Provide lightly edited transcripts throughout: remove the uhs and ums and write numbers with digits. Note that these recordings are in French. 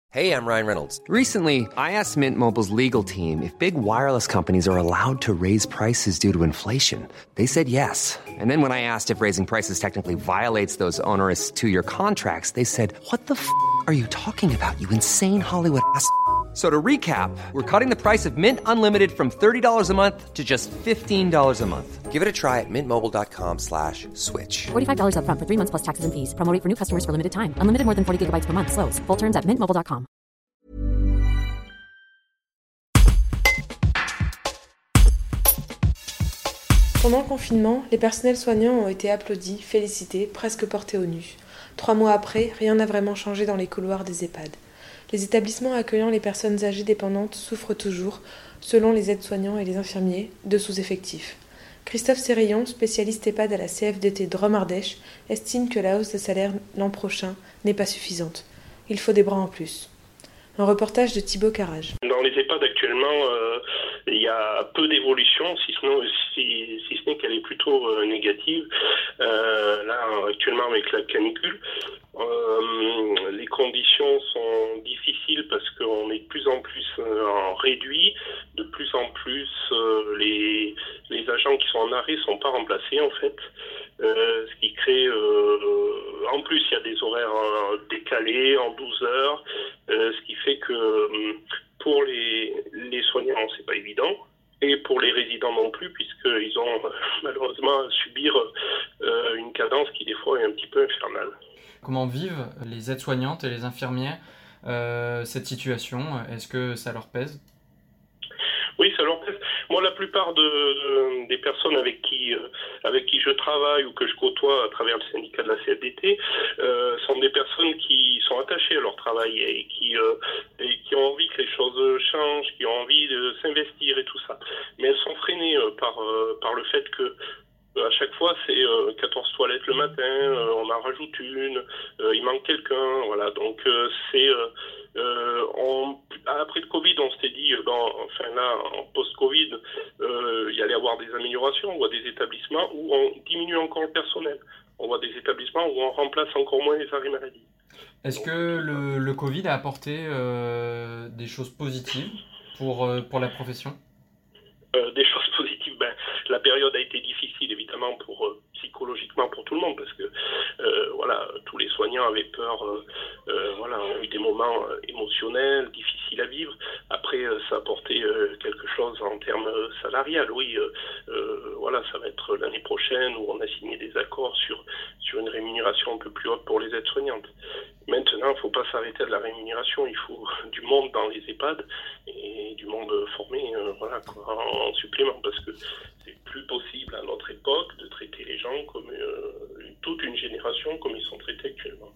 Hey, I'm Ryan Reynolds. Recently, I asked Mint Mobile's legal team if big wireless companies are allowed to raise prices due to inflation. They said yes. And then when I asked if raising prices technically violates those onerous two-year contracts, they said, "What the f*** are you talking about, you insane Hollywood ass?" So to recap, we're cutting the price of Mint Unlimited from $30 a month to just $15 a month. Give it a try at mintmobile.com/switch. $45 up front for 3 months plus taxes and fees. Promo rate for new customers for limited time. Unlimited more than 40 gigabytes per month. Slows full terms at mintmobile.com. Pendant le confinement, les personnels soignants ont été applaudis, félicités, presque portés au nu. 3 mois après, rien n'a vraiment changé dans les couloirs des EHPAD. Les établissements accueillant les personnes âgées dépendantes souffrent toujours, selon les aides-soignants et les infirmiers, de sous-effectifs. Christophe Séraillon, spécialiste EHPAD à la CFDT Drôme-Ardèche, estime que la hausse des salaires l'an prochain n'est pas suffisante. Il faut des bras en plus. Un reportage de Thibaut Carrage. Dans les EHPAD actuellement, il y a peu d'évolution, si ce n'est qu'elle est plutôt négative. Là, actuellement, avec la canicule, les conditions sont difficiles parce qu'on est de plus en plus en réduit. De plus en plus, les agents qui sont en arrêt ne sont pas remplacés, en fait. Ce qui crée... en plus, il y a des horaires décalés en 12 heures, ce qui fait que pour les soignants, c'est pas évident. Et pour les résidents non plus, puisqu'ils ont malheureusement à subir une cadence qui des fois est un petit peu infernale. Comment vivent les aides-soignantes et les infirmiers cette situation? Est-ce que ça leur pèse? Oui, ça leur pèse. Moi, la plupart des personnes avec qui je travaille ou que je côtoie à travers le syndicat de la CFDT sont des personnes qui sont attachées à leur travail et qui ont envie que les choses changent, qui ont envie de s'investir et tout ça. Mais elles sont freinées par le fait que à chaque fois, c'est 14 toilettes le matin, on en rajoute une, il manque quelqu'un, voilà. Donc, après le Covid, on s'était dit, en post-Covid, il y allait avoir des améliorations. On voit des établissements où on diminue encore le personnel. On voit des établissements où on remplace encore moins les arrêts maladie. Est-ce que le Covid a apporté des choses positives pour la profession? Des choses positives, la période a été difficile évidemment psychologiquement pour tout le monde parce que tous les soignants avaient peur, ont eu des moments émotionnels, difficiles à vivre. Après, ça a apporté quelque chose en termes salarial. Oui, ça va être l'année prochaine où on a signé des accords sur une rémunération un peu plus haute pour les aides-soignantes. Maintenant, il ne faut pas s'arrêter de la rémunération. Il faut du monde dans les EHPAD et du monde formé en supplément parce que c'est plus possible à notre époque de traiter les gens comme toute une génération comme ils sont traités actuellement.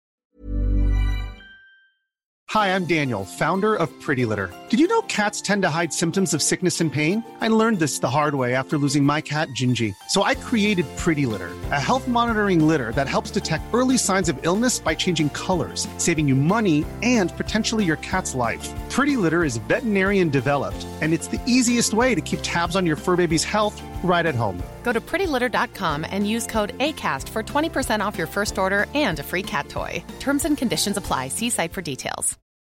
Hi, I'm Daniel, founder of Pretty Litter. Did you know cats tend to hide symptoms of sickness and pain? I learned this the hard way after losing my cat, Gingy. So I created Pretty Litter, a health monitoring litter that helps detect early signs of illness by changing colors, saving you money and potentially your cat's life. Pretty Litter is veterinarian developed, and it's the easiest way to keep tabs on your fur baby's health right at home. Go to prettylitter.com and use code ACAST for 20% off your first order and a free cat toy. Terms and conditions apply. See site for details.